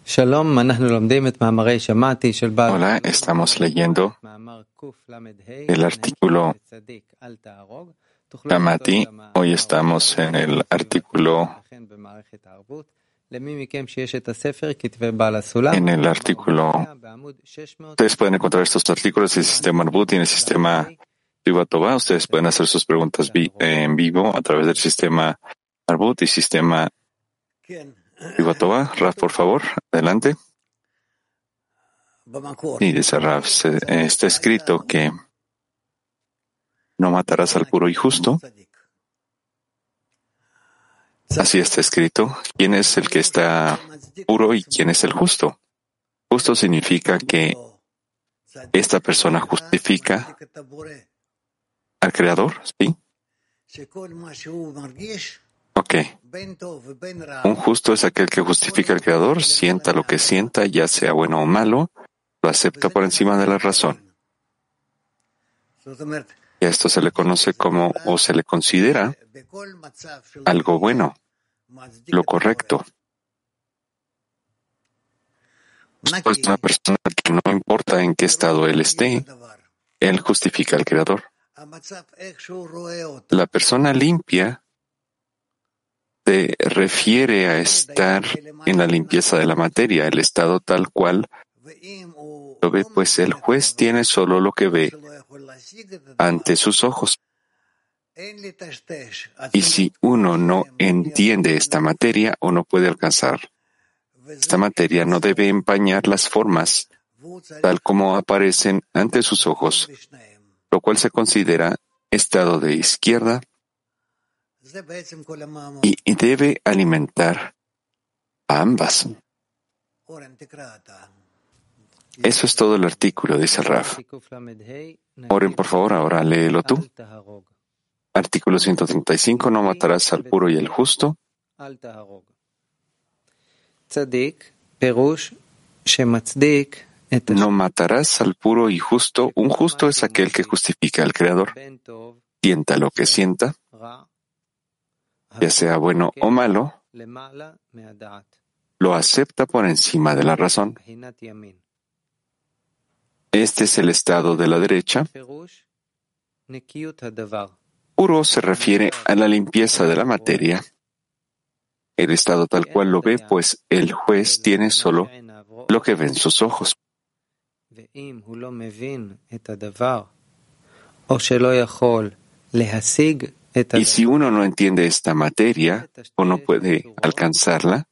Hola, estamos leyendo el artículo Shamati. Hoy estamos en el artículo. Ustedes pueden encontrar estos artículos en el sistema Arbut y en el sistema Privatova. Ustedes pueden hacer sus preguntas en vivo a través del sistema Arbut y sistema Privatova. Raf, por favor, adelante. Y dice Raf, está escrito que no matarás al puro y justo. Así está escrito. ¿Quién es el que está puro y quién es el justo? Justo significa que esta persona justifica al Creador, ¿sí? Ok. Un justo es aquel que justifica al Creador, sienta lo que sienta, ya sea bueno o malo, lo acepta por encima de la razón. Y a esto se le conoce como, o se le considera, algo bueno, lo correcto. Es una persona que no importa en qué estado él esté, él justifica al Creador. La persona limpia se refiere a estar en la limpieza de la materia, el estado tal cual lo ve, pues el juez tiene solo lo que ve ante sus ojos. Y si uno no entiende esta materia o no puede alcanzar esta materia, no debe empañar las formas tal como aparecen ante sus ojos, lo cual se considera estado de izquierda y debe alimentar a ambas. Eso es todo el artículo, dice el Raf. Oren, por favor, ahora léelo tú. Artículo 135, no matarás al puro y al justo. No matarás al puro y justo. Un justo es aquel que justifica al Creador. Sienta lo que sienta, ya sea bueno o malo, lo acepta por encima de la razón. Este es el estado de la derecha. Puro se refiere a la limpieza de la materia. El estado tal cual lo ve, pues el juez tiene solo lo que ven sus ojos. Y si uno no entiende esta materia o no puede alcanzarla,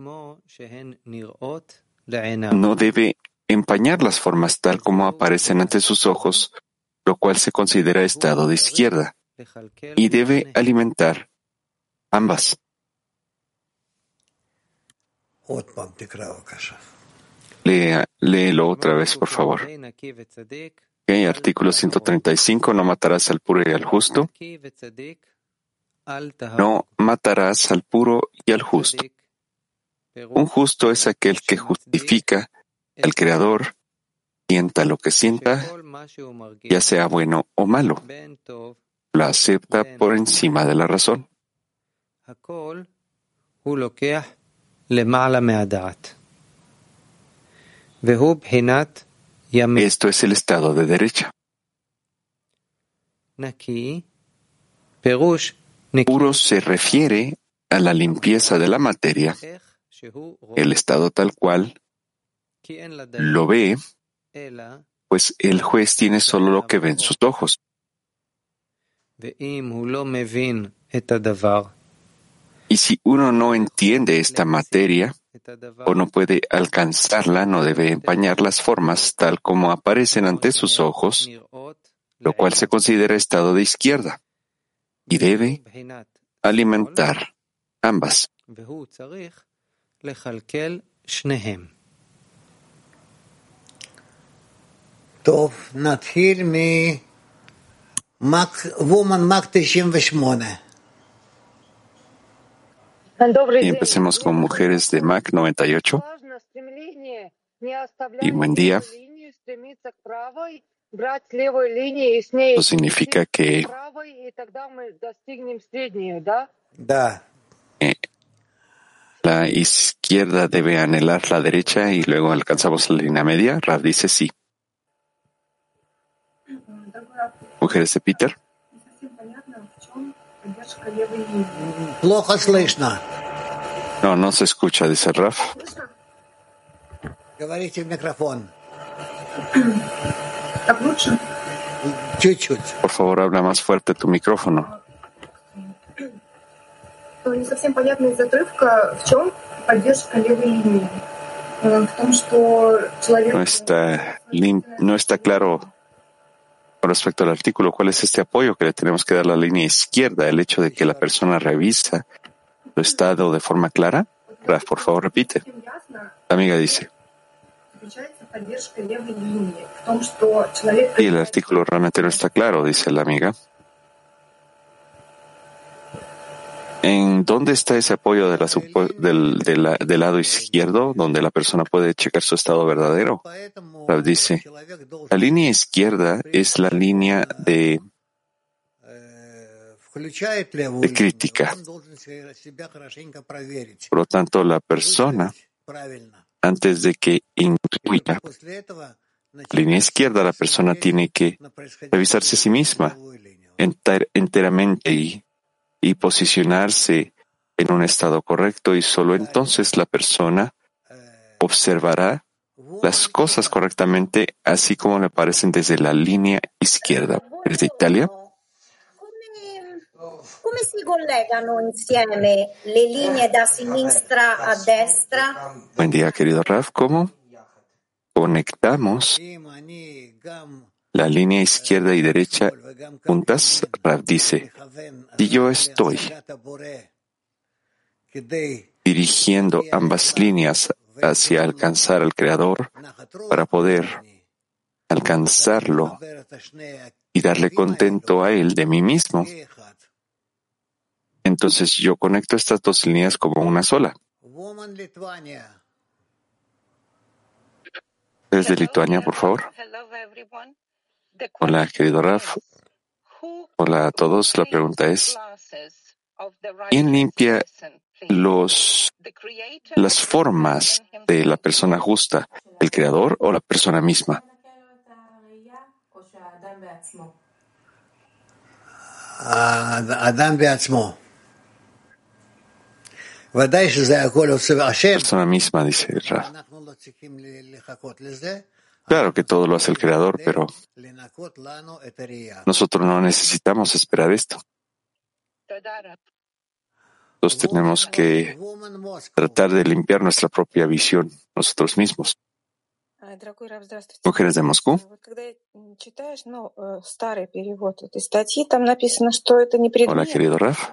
no debe empañar las formas tal como aparecen ante sus ojos, lo cual se considera estado de izquierda, y debe alimentar ambas. Léelo otra vez, por favor. Okay, artículo 135, no matarás al puro y al justo. No matarás al puro y al justo. Un justo es aquel que justifica al Creador, sienta lo que sienta, ya sea bueno o malo, lo acepta por encima de la razón. Esto es el estado de derecha. Puro se refiere a la limpieza de la materia, el estado tal cual lo ve, pues el juez tiene solo lo que ven sus ojos. Y si uno no entiende esta materia o no puede alcanzarla, no debe empañar las formas tal como aparecen ante sus ojos, lo cual se considera estado de izquierda, y debe alimentar ambas. Y empecemos con mujeres de Mac 98. Y buen día. Eso significa que La izquierda debe anhelar la derecha y luego alcanzamos la línea media. Rav dice sí. Mujeres de Peter. Плохо слышно. No se escucha, dice Rav. Говорите в микрофон. Так лучше? Чуть-чуть. Por favor, habla más fuerte tu micrófono. Не совсем понятно из отрывка, в чем поддержка левой линии. В том, что человек... No está claro con respecto al artículo cuál es este apoyo que le tenemos que dar a la línea izquierda, el hecho de que la persona revisa su estado de forma clara. Raf, por favor, repite. La amiga dice. Y el artículo realmente no está claro, dice la amiga. ¿En dónde está ese apoyo del lado izquierdo, donde la persona puede checar su estado verdadero? Rav dice, la línea izquierda es la línea de crítica. Por lo tanto, la persona, antes de que incluya la línea izquierda, la persona tiene que revisarse a sí misma enteramente y posicionarse en un estado correcto, y solo entonces la persona observará las cosas correctamente, así como le parecen desde la línea izquierda. ¿Eres de Italia? Come si collegano insieme le linee da sinistra a destra? Buen día, querido Raf. ¿Cómo conectamos la línea izquierda y derecha juntas? Rav dice, si yo estoy dirigiendo ambas líneas hacia alcanzar al Creador para poder alcanzarlo y darle contento a Él de mí mismo, entonces yo conecto estas dos líneas como una sola. Desde Lituania, por favor. Hola, querido Raf. Hola a todos. La pregunta es, ¿quién limpia las formas de la persona justa, el Creador o la persona misma? Persona misma, dice Raf. Claro que todo lo hace el Creador, pero nosotros no necesitamos esperar esto. Nosotros tenemos que tratar de limpiar nuestra propia visión nosotros mismos. Mujeres de Moscú. Hola, querido Raf.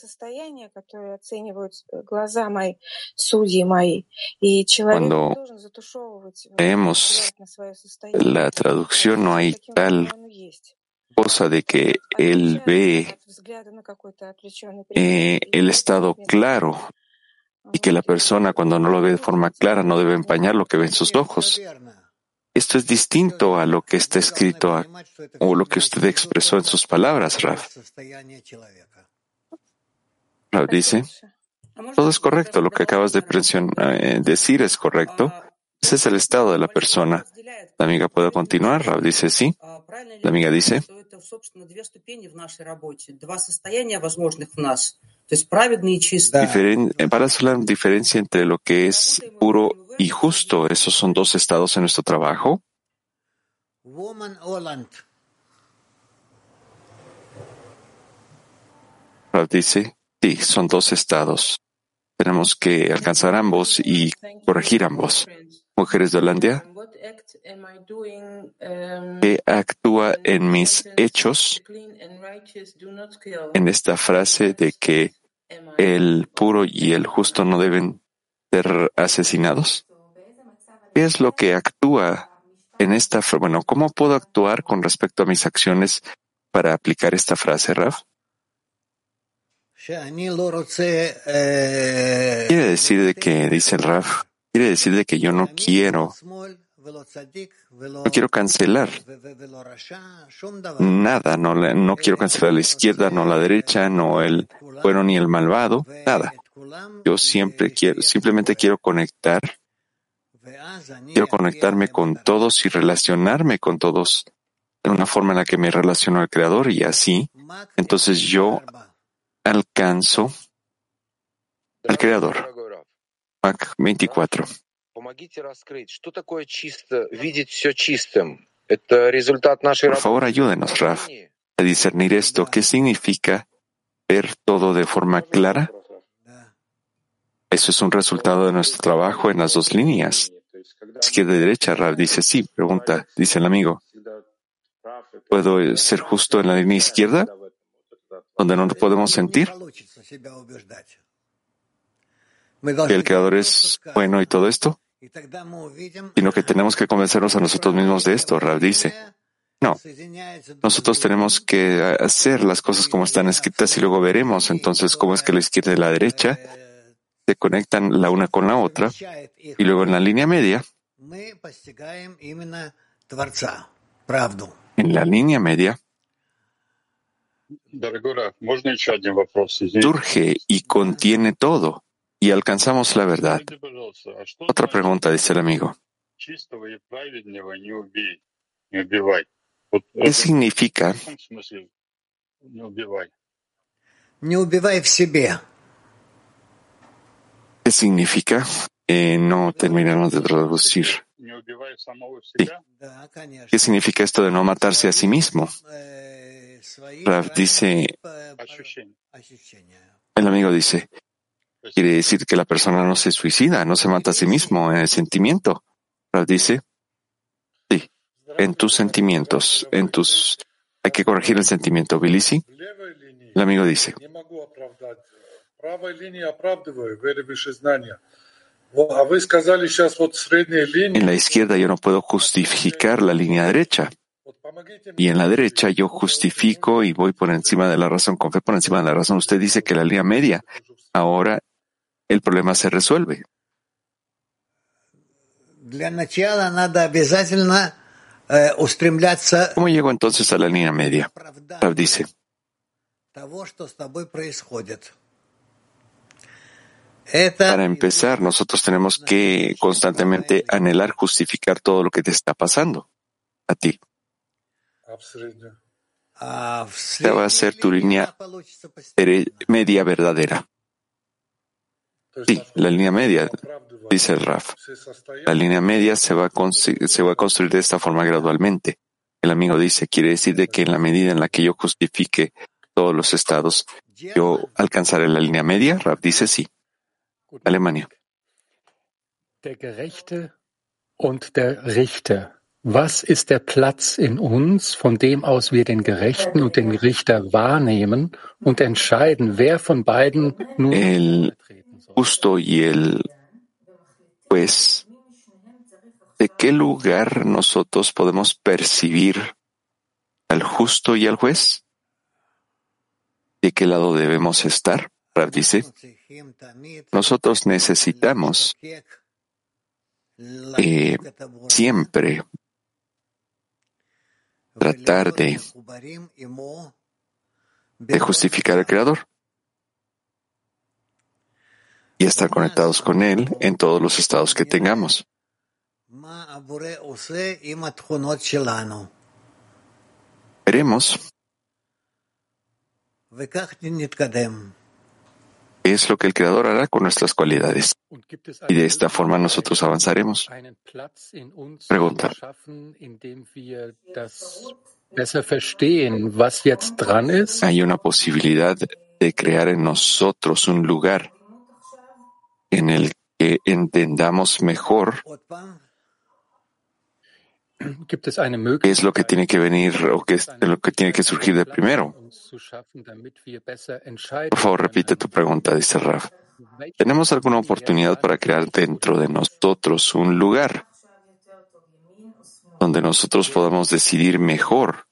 Cuando leemos la traducción, no hay tal cosa de que él ve el estado claro y que la persona, cuando no lo ve de forma clara, no debe empañar lo que ve en sus ojos. Esto es distinto a lo que está escrito o lo que usted expresó en sus palabras, Raf. Raf dice, todo es correcto, lo que acabas de decir es correcto. Ese es el estado de la persona. La amiga puede continuar. Raf dice sí. La amiga dice, para hacer la diferencia entre lo que es puro y justo, ¿esos son dos estados en nuestro trabajo? Raf dice, sí, son dos estados. Tenemos que alcanzar ambos y corregir ambos. Mujeres de Holanda, ¿qué actúa en mis hechos en esta frase de que el puro y el justo no deben ser asesinados? ¿Qué es lo que actúa en esta frase? Bueno, ¿cómo puedo actuar con respecto a mis acciones para aplicar esta frase, Raf? Quiere decir de que, dice el Raf, quiere decir de que yo no quiero cancelar nada, no quiero cancelar la izquierda, no la derecha, no el bueno ni el malvado, nada. Yo simplemente quiero conectarme con todos y relacionarme con todos en una forma en la que me relaciono al Creador y así, entonces yo alcanzo al Creador. Mac 24. Por favor, ayúdenos, Rav, a discernir esto. ¿Qué significa ver todo de forma clara? Eso es un resultado de nuestro trabajo en las dos líneas. Izquierda y derecha, Rav dice sí. Pregunta, dice el amigo. ¿Puedo ser justo en la línea izquierda, donde no nos podemos sentir que el Creador es bueno y todo esto? Sino que tenemos que convencernos a nosotros mismos de esto. Rav dice, no, nosotros tenemos que hacer las cosas como están escritas y luego veremos entonces cómo es que la izquierda y la derecha se conectan la una con la otra y luego en la línea media, surge y contiene todo y alcanzamos la verdad. Otra pregunta, dice el amigo. ¿Qué significa? ¿Qué significa? No terminamos de traducir. Sí. ¿Qué significa esto de no matarse a sí mismo? Rav dice, el amigo dice, quiere decir que la persona no se suicida, no se mata a sí mismo en el sentimiento. Rav dice, sí, en tus sentimientos, hay que corregir el sentimiento. Bilisi, el amigo dice, en la izquierda yo no puedo justificar la línea derecha. Y en la derecha yo justifico y voy por encima de la razón, con fe por encima de la razón. Usted dice que la línea media, ahora el problema se resuelve. ¿Cómo llego entonces a la línea media? Rav dice, para empezar, nosotros tenemos que constantemente anhelar justificar todo lo que te está pasando a ti. Esta va a ser tu línea media verdadera. Sí, la línea media, dice el Rav. La línea media se va a construir de esta forma gradualmente. El amigo dice, quiere decir de que en la medida en la que yo justifique todos los estados, yo alcanzaré la línea media. Rav dice sí. Alemania. Der Gerechte und der Richter. Was ist der Platz in uns, von dem aus wir den Gerechten und den Richter wahrnehmen und entscheiden, wer von beiden nun treten soll? Justo y el juez. ¿De qué lugar nosotros podemos percibir al justo y al juez? ¿De qué lado debemos estar? Rav dice, nosotros necesitamos siempre tratar de justificar al Creador y estar conectados con Él en todos los estados que tengamos. Veremos qué es lo que el Creador hará con nuestras cualidades. Y de esta forma nosotros avanzaremos. Pregunta. ¿Hay una posibilidad de crear en nosotros un lugar en el que entendamos mejor qué es lo que tiene que venir o qué es lo que tiene que surgir de primero? Por favor, repite tu pregunta, dice Rav. ¿Tenemos alguna oportunidad para crear dentro de nosotros un lugar donde nosotros podamos decidir mejor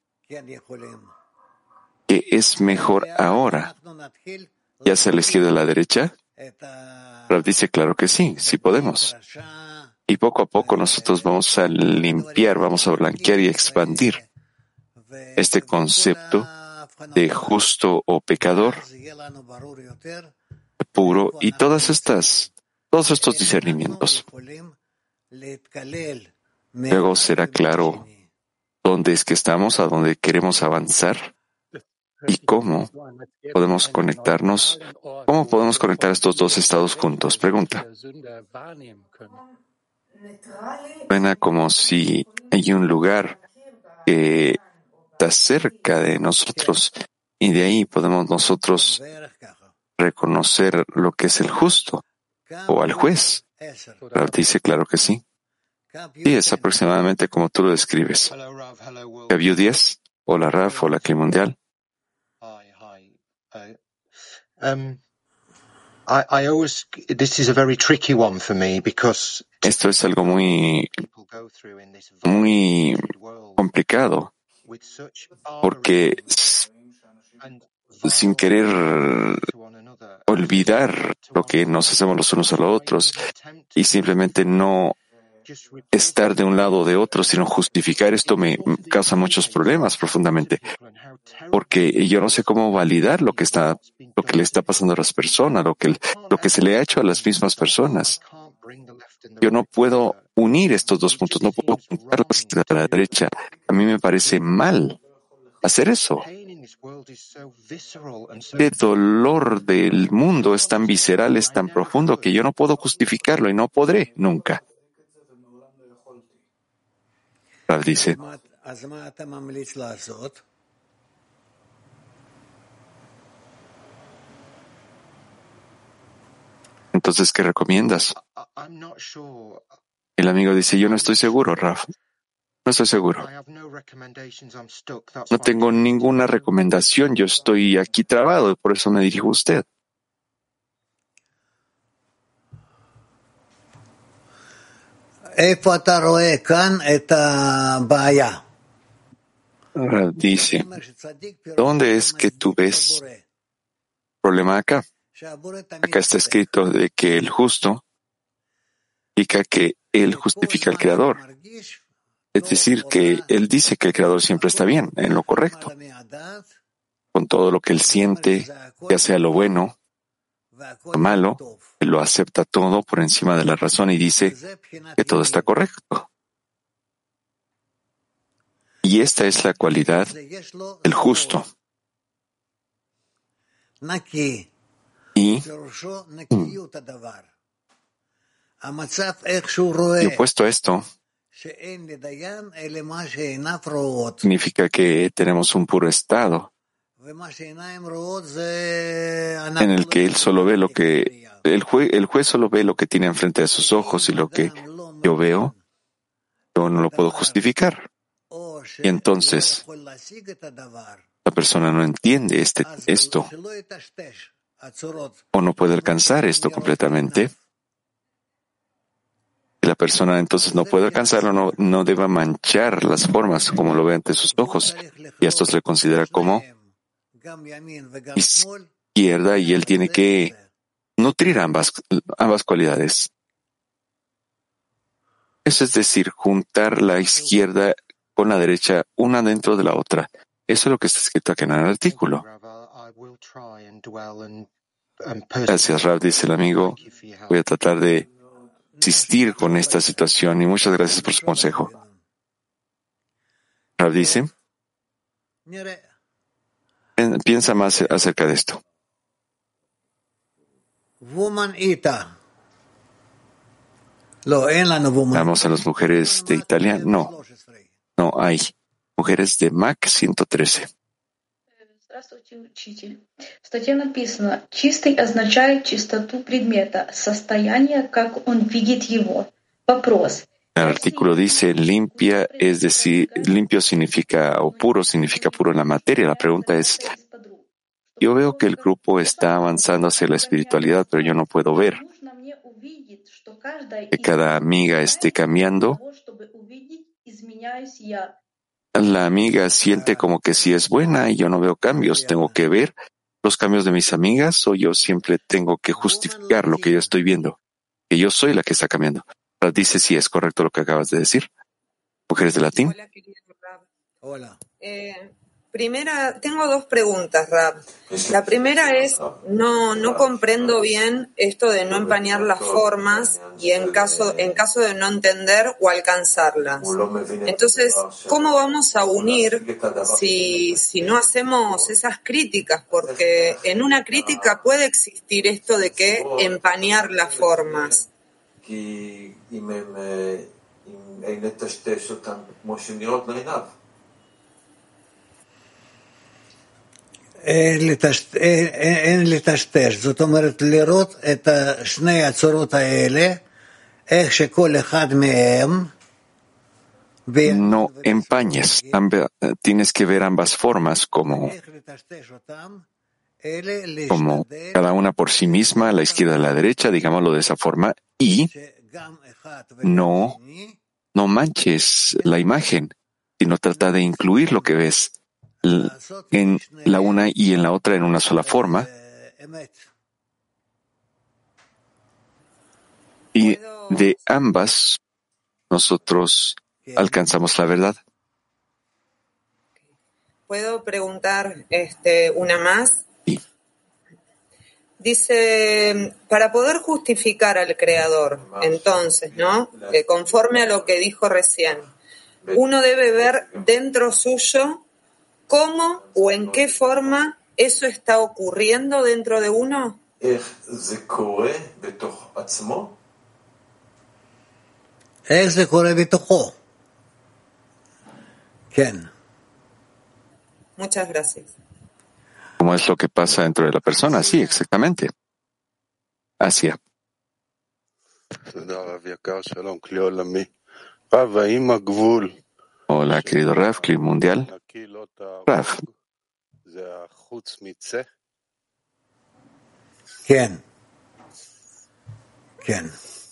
qué es mejor ahora, ya sea a la izquierda o a la derecha? Rav dice, claro que sí, sí podemos. Y poco a poco nosotros vamos a limpiar, vamos a blanquear y expandir este concepto de justo o pecador puro y todos estos discernimientos. Luego será claro dónde es que estamos, a dónde queremos avanzar y cómo podemos conectarnos. ¿Cómo podemos conectar estos dos estados juntos? Pregunta. Suena como si hay un lugar que está cerca de nosotros y de ahí podemos nosotros reconocer lo que es el justo o al juez. Rav dice, claro que sí. Sí, es aproximadamente como tú lo describes. Gabriel 10. Hola Rav, hola Clima Mundial. Esto es algo muy complicado, porque sin querer olvidar lo que nos hacemos los unos a los otros y simplemente no estar de un lado o de otro, sino justificar esto me causa muchos problemas profundamente, porque yo no sé cómo validar lo que le está pasando a las personas, lo que se le ha hecho a las mismas personas. Yo no puedo unir estos dos puntos, no puedo juntarlos a la derecha. A mí me parece mal hacer eso. El dolor del mundo es tan visceral, es tan profundo que yo no puedo justificarlo y no podré nunca. Rav dice, entonces, ¿qué recomiendas? El amigo dice, yo no estoy seguro, Rav. No estoy seguro. No tengo ninguna recomendación. Yo estoy aquí trabado y por eso me dirijo a usted. Rav dice, ¿dónde es que tú ves problema acá? Acá está escrito de que el justo indica que él justifica al Creador. Es decir, que él dice que el Creador siempre está bien, en lo correcto. Con todo lo que él siente, ya sea lo bueno, lo malo, él lo acepta todo por encima de la razón y dice que todo está correcto. Y esta es la cualidad del justo. Y opuesto a esto, significa que tenemos un puro estado en el que él solo ve lo que el juez solo ve lo que tiene enfrente de sus ojos y lo que yo veo, yo no lo puedo justificar. Y entonces la persona no entiende esto o no puede alcanzar esto completamente. Y la persona entonces no puede alcanzarlo, no debe manchar las formas como lo ve ante sus ojos. Y esto se le considera como izquierda y él tiene que nutrir ambas cualidades. Eso es decir, juntar la izquierda con la derecha, una dentro de la otra. Eso es lo que está escrito aquí en el artículo. Gracias, Rav, dice el amigo. Voy a tratar de insistir con esta situación y muchas gracias por su consejo. Rav dice, piensa más acerca de esto. Vamos a las mujeres de Italia. No hay. Mujeres de Mac 113. Здравствуйте, учитель. В статье написано: чистый означает чистоту предмета, состояние, как он видит его. Вопрос. El artículo dice limpia, es decir, limpio significa o puro significa puro en la materia. La pregunta es, yo veo que el grupo está avanzando hacia la espiritualidad, pero yo no puedo ver que cada amiga esté cambiando. La amiga siente como que sí es buena y yo no veo cambios. ¿Tengo que ver los cambios de mis amigas o yo siempre tengo que justificar lo que yo estoy viendo? Que yo soy la que está cambiando. Dice si es correcto lo que acabas de decir. Mujeres de latín. Hola, querido Rab. Hola. Tengo dos preguntas, Rab. La primera es, no comprendo bien esto de no empañar las formas y en caso de no entender o alcanzarlas. Entonces, ¿cómo vamos a unir si no hacemos esas críticas? Porque en una crítica puede existir esto de que empañar las formas. אין לטשטש, זאת אומרת לראות את שני הצורות האלה, איך שכל אחד מהם No empañes, tienes que ver ambas formas como cada una por sí misma, la izquierda y la derecha, digámoslo de esa forma, y no manches la imagen, sino trata de incluir lo que ves en la una y en la otra en una sola forma. Y de ambas nosotros alcanzamos la verdad. ¿Puedo preguntar una más? Sí. Dice, para poder justificar al Creador, entonces, ¿no? Conforme a lo que dijo recién, uno debe ver dentro suyo cómo o en qué forma eso está ocurriendo dentro de uno. איך זה קורה בתוכו. כן. Muchas gracias. ¿Cómo es lo que pasa dentro de la persona? Sí, exactamente. Asia. Hola, querido Rav, Clip Mundial. Rav. כן. כן.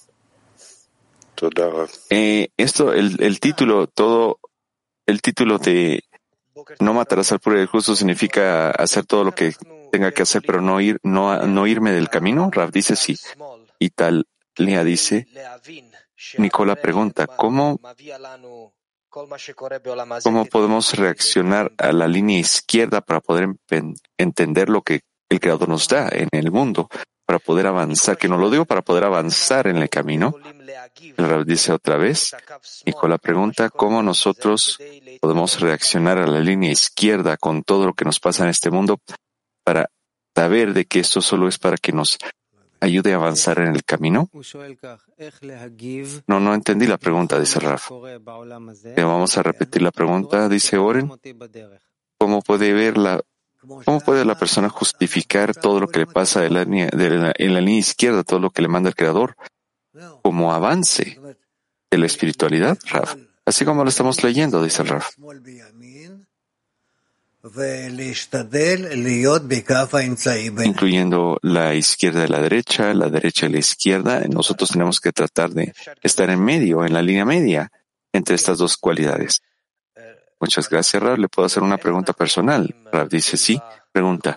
Esto, el título de no matarás al puro y al justo significa hacer todo lo que tenga que hacer, pero no irme del camino. Rav dice sí. Y Talia dice, Nicola pregunta, ¿cómo podemos reaccionar a la línea izquierda para poder entender lo que el Creador nos da en el mundo, para poder avanzar? Que no lo digo para poder avanzar en el camino. El Rav dice otra vez, Nicola pregunta, ¿cómo nosotros podemos reaccionar a la línea izquierda con todo lo que nos pasa en este mundo para saber de que esto solo es para que nos ayude a avanzar en el camino? No entendí la pregunta, dice Rav. Vamos a repetir la pregunta, dice Oren. ¿Cómo puede la persona justificar todo lo que le pasa en la línea izquierda, todo lo que le manda el Creador, como avance de la espiritualidad, Rav? Así como lo estamos leyendo, dice el Rav. Incluyendo la izquierda y la derecha y la izquierda, nosotros tenemos que tratar de estar en medio, en la línea media, entre estas dos cualidades. Muchas gracias, Rav. ¿Le puedo hacer una pregunta personal? Rav dice sí. Pregunta.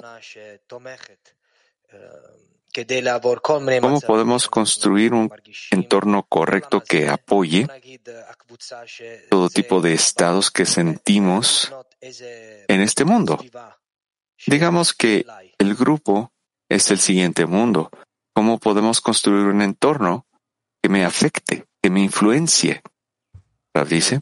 ¿Cómo podemos construir un entorno correcto que apoye todo tipo de estados que sentimos en este mundo? Digamos que el grupo es el siguiente mundo. ¿Cómo podemos construir un entorno que me afecte, que me influencie? Rav dice,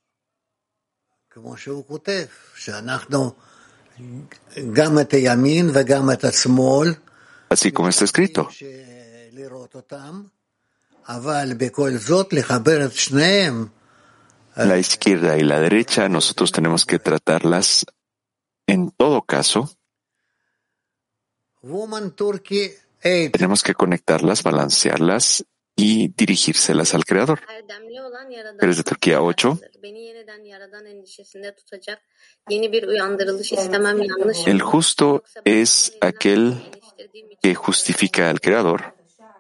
así como está escrito. La izquierda y la derecha, nosotros tenemos que tratarlas en todo caso. Tenemos que conectarlas, balancearlas y dirigírselas al Creador. Eres de Turquía 8. El justo es aquel que justifica al Creador.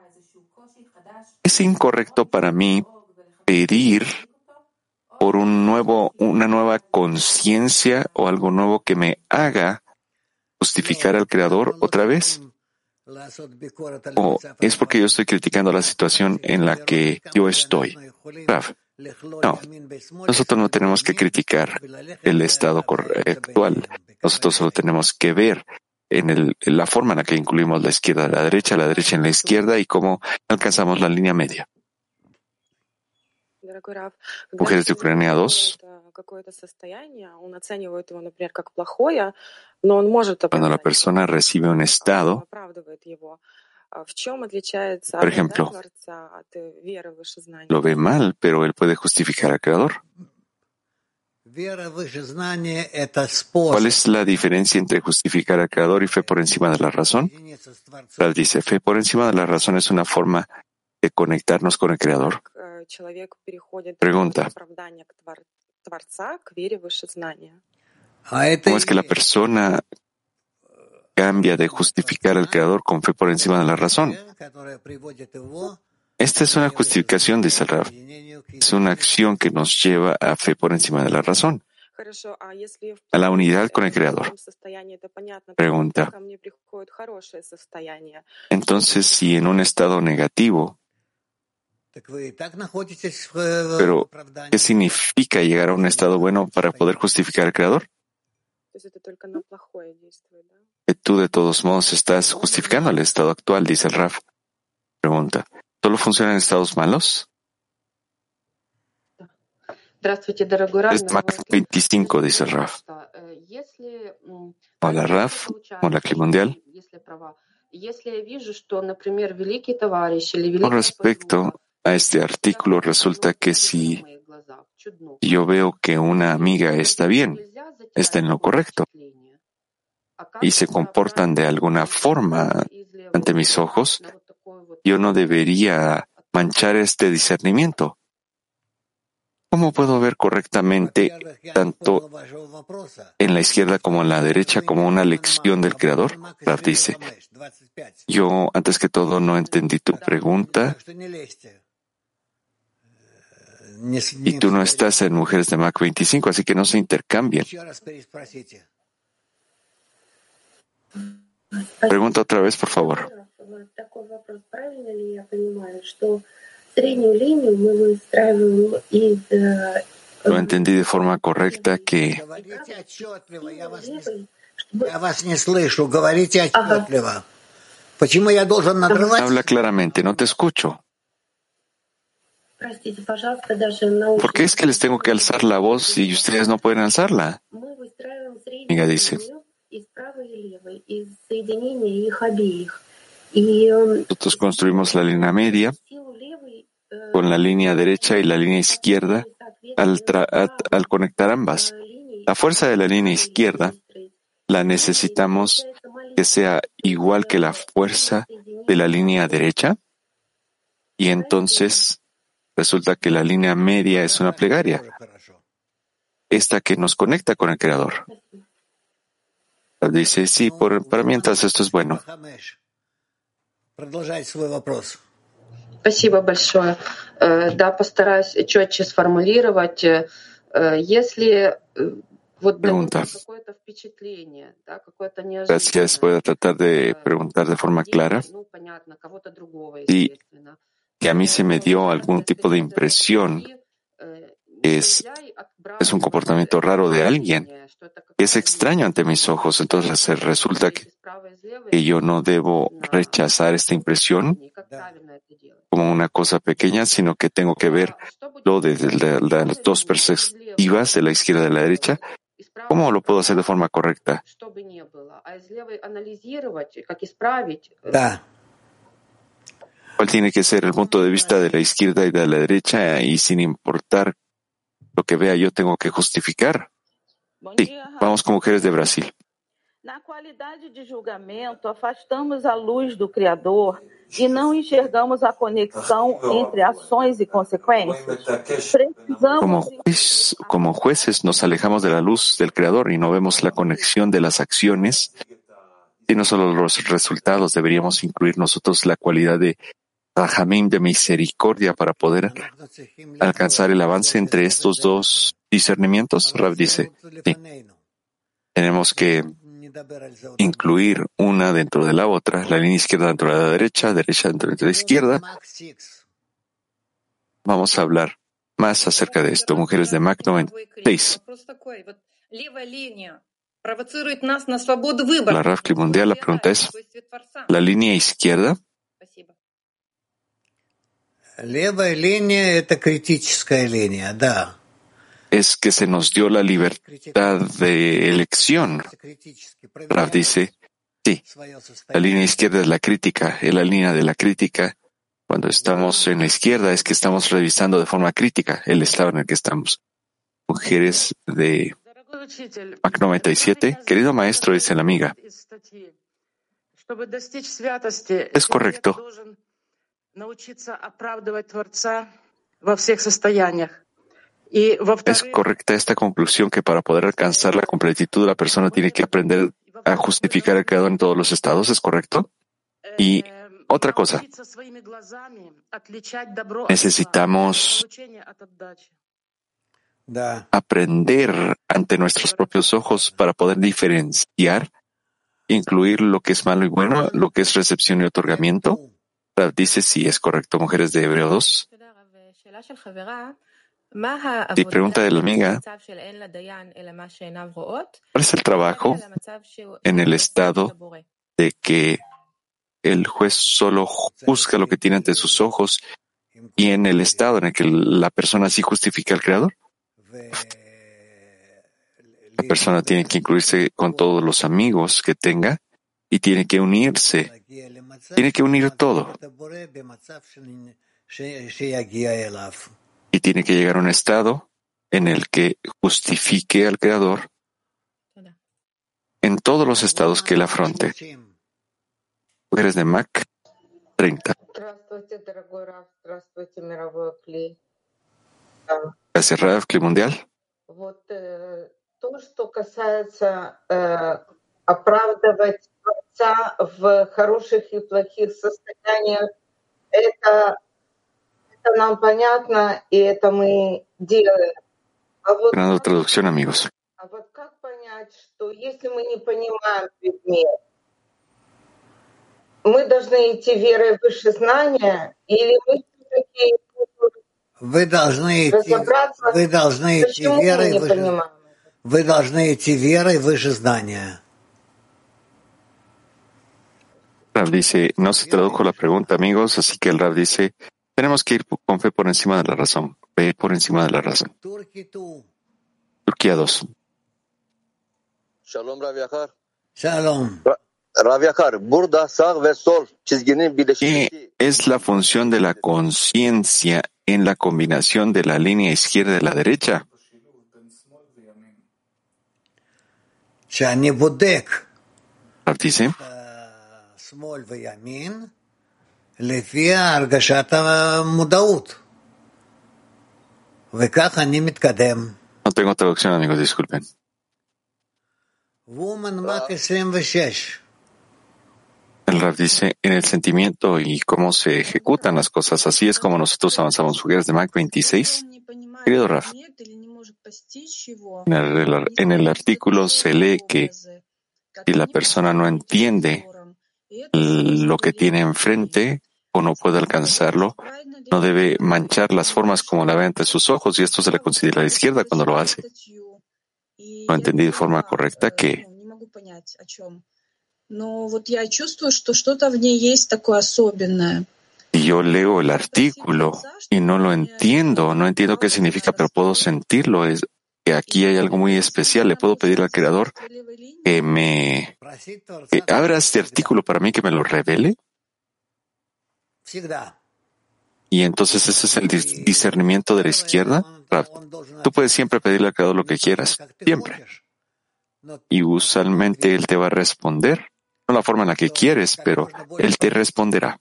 Es incorrecto para mí pedir por una nueva conciencia o algo nuevo que me haga justificar al Creador otra vez. ¿O es porque yo estoy criticando la situación en la que yo estoy? Rav, No, nosotros no tenemos que criticar el estado actual. Nosotros solo tenemos que ver en la forma en la que incluimos la izquierda a la derecha en la izquierda y cómo alcanzamos la línea media. Mujeres de Ucrania 2. Cuando la persona recibe un estado, por ejemplo, lo ve mal, pero él puede justificar al Creador. ¿Cuál es la diferencia entre justificar al Creador y fe por encima de la razón? Rav dice, fe por encima de la razón es una forma de conectarnos con el Creador. Pregunta, ¿cómo es que la persona cambia de justificar al Creador con fe por encima de la razón? Esta es una justificación, dice el Rav. Es una acción que nos lleva a fe por encima de la razón, a la unidad con el Creador. Pregunta, entonces, si en un estado negativo, pero ¿qué significa llegar a un estado bueno para poder justificar al Creador? Que tú de todos modos estás justificando el estado actual, dice el Rav. Pregunta, ¿solo funciona en estados malos? Es Mac 25, dice el Rav. Hola Rav, hola Clima Mundial. Con respecto a este artículo, resulta que si yo veo que una amiga está bien, está en lo correcto, y se comportan de alguna forma ante mis ojos, yo no debería manchar este discernimiento. ¿Cómo puedo ver correctamente tanto en la izquierda como en la derecha como una lección del Creador? Rav dice, yo antes que todo no entendí tu pregunta y tú no estás en Mujeres de Mac 25, así que no se intercambian. Pregunta otra vez, por favor. Lo entendí de forma correcta que habla claramente, no te escucho. ¿Por qué es que les tengo que alzar la voz y ustedes no pueden alzarla? Amiga dice, nosotros construimos la línea media con la línea derecha y la línea izquierda al conectar ambas. La fuerza de la línea izquierda la necesitamos que sea igual que la fuerza de la línea derecha y entonces resulta que la línea media es una plegaria, esta que nos conecta con el Creador. Dice, sí, para mí entonces esto es bueno. Спасибо большое. Да, постараюсь четче сформулировать. Если вот какое-то впечатление, да, какое-то неожиданное. Gracias. Voy a tratar de preguntar de forma clara. Sí, que a mí se me dio algún tipo de impresión que es un comportamiento raro de alguien, que es extraño ante mis ojos. Entonces resulta que yo no debo rechazar esta impresión como una cosa pequeña, sino que tengo que verlo desde las dos perspectivas, de la izquierda y de la derecha. ¿Cómo lo puedo hacer de forma correcta? ¿Cuál tiene que ser el punto de vista de la izquierda y de la derecha? Y sin importar lo que vea, yo tengo que justificar. Sí, vamos con Mujeres de Brasil. Na qualidade de julgamento, afastamos a luz do Criador e não enxergamos a conexão entre ações e consequências. Como jueces nos alejamos de la luz del Creador y no vemos la conexión de las acciones, sino solo los resultados. Deberíamos incluir nosotros la cualidad de Rahamim, de misericordia, para poder alcanzar el avance entre estos dos discernimientos. Rav dice, sí, tenemos que incluir una dentro de la otra, la línea izquierda dentro de la derecha, derecha dentro de la izquierda. Vamos a hablar más acerca de esto. Mujeres de Mac 96. La Rav Mundial, la pregunta es, ¿la línea izquierda? Левая линия — это критическая линия, да. Es que se nos dio la libertad de elección. Rav dice, sí, la línea izquierda es la crítica, es la línea de la crítica. Cuando estamos en la izquierda es que estamos revisando de forma crítica el estado en el que estamos. Mujeres de Mac 97, querido maestro, dice la amiga, es correcto. Es correcta esta conclusión que para poder alcanzar la completitud la persona tiene que aprender a justificar al Creador en todos los estados, ¿es correcto? Y otra cosa, necesitamos aprender ante nuestros propios ojos para poder diferenciar, incluir lo que es malo y bueno, lo que es recepción y otorgamiento. Dice si es correcto, mujeres de Hebreo 2. Sí, pregunta de la amiga, ¿cuál es el trabajo en el estado de que el juez solo juzga lo que tiene ante sus ojos y en el estado en el que la persona sí justifica al Creador? La persona tiene que incluirse con todos los amigos que tenga y tiene que unirse. Tiene que unir todo. Y tiene que llegar a un estado en el que justifique al Creador en todos los estados que él afronte. Mujeres de Mac 30. Gracias, Rav Kli Mundial. То, что касается оправдывать Творца в хороших и плохих состояниях, это нам понятно, и это мы делаем. Ganando traducción, amigos. А вот как понять, что если мы не понимаем предмет, мы должны идти верой выше знания, или мы все-таки разобраться, почему мы не понимаем? Вы должны идти верой выше знания. Rav dice, no se tradujo la pregunta, amigos, así que el Rav dice, tenemos que ir con fe por encima de la razón. Fe por encima de la razón. Turquía 2. Shalom, Rav Yachar. Shalom. Rav Yachar, burada sağ ve sol çizginin birleşmesi. ¿Qué es la función de la conciencia en la combinación de la línea izquierda y la derecha? שאני בודק Rav dice, שמאל וימין לפי הרגשת המודעות. וכך אני מתקדם. no tengo traducción, amigos, disculpen. Woman Mac 26. El Rav dice, en el sentimiento y cómo se ejecutan las cosas, así es como nosotros avanzamos. Mujeres de Mac 26. Querido Rav, en el artículo se lee que si la persona no entiende lo que tiene enfrente o no puede alcanzarlo, no debe manchar las formas como la ve ante sus ojos, y esto se le considera a la izquierda cuando lo hace. No entendí de forma correcta que si yo leo el artículo y no entiendo qué significa, pero puedo sentirlo, es que aquí hay algo muy especial. Le puedo pedir al Creador que abra este artículo para mí, que me lo revele. Y entonces ese es el discernimiento de la izquierda. Tú puedes siempre pedirle al Creador lo que quieras, siempre. Y usualmente Él te va a responder, no la forma en la que quieres, pero Él te responderá.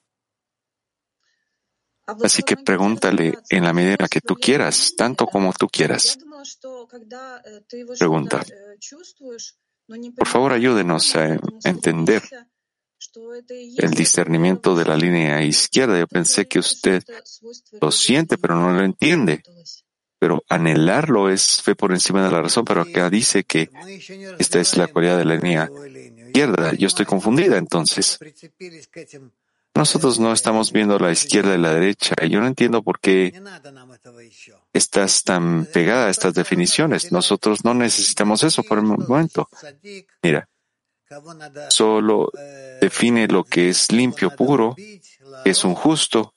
Así que pregúntale en la medida en la que tú quieras, tanto como tú quieras. Pregunta. Por favor, ayúdenos a entender el discernimiento de la línea izquierda. Yo pensé que usted lo siente, pero no lo entiende. Pero anhelarlo es fe por encima de la razón, pero acá dice que esta es la cualidad de la línea izquierda. Yo estoy confundida entonces. Nosotros no estamos viendo la izquierda y la derecha. Y yo no entiendo por qué estás tan pegada a estas definiciones. Nosotros no necesitamos eso por el momento. Mira, solo define lo que es limpio, puro, que es un justo.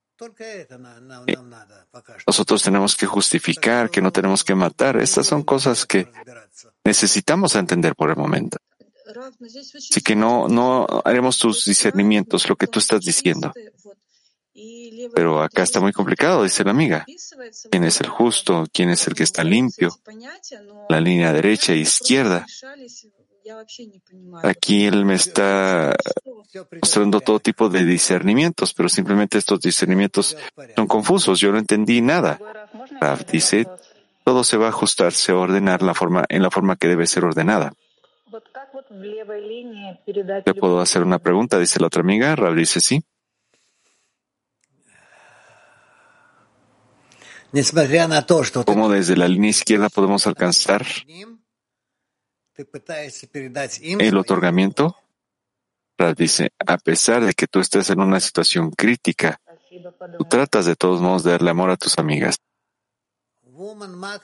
Nosotros tenemos que justificar, que no tenemos que matar. Estas son cosas que necesitamos entender por el momento. Así que no haremos tus discernimientos, lo que tú estás diciendo. Pero acá está muy complicado, dice la amiga. ¿Quién es el justo? ¿Quién es el que está limpio? La línea derecha e izquierda. Aquí él me está mostrando todo tipo de discernimientos, pero simplemente estos discernimientos son confusos. Yo no entendí nada. Rav dice, todo se va a ajustar, se va a ordenar en la forma que debe ser ordenada. ¿Le puedo hacer una pregunta? Dice la otra amiga. Rav dice sí. ¿Cómo desde la línea izquierda podemos alcanzar el otorgamiento? Rav dice, a pesar de que tú estés en una situación crítica, tú tratas de todos modos de darle amor a tus amigas. Woman Mac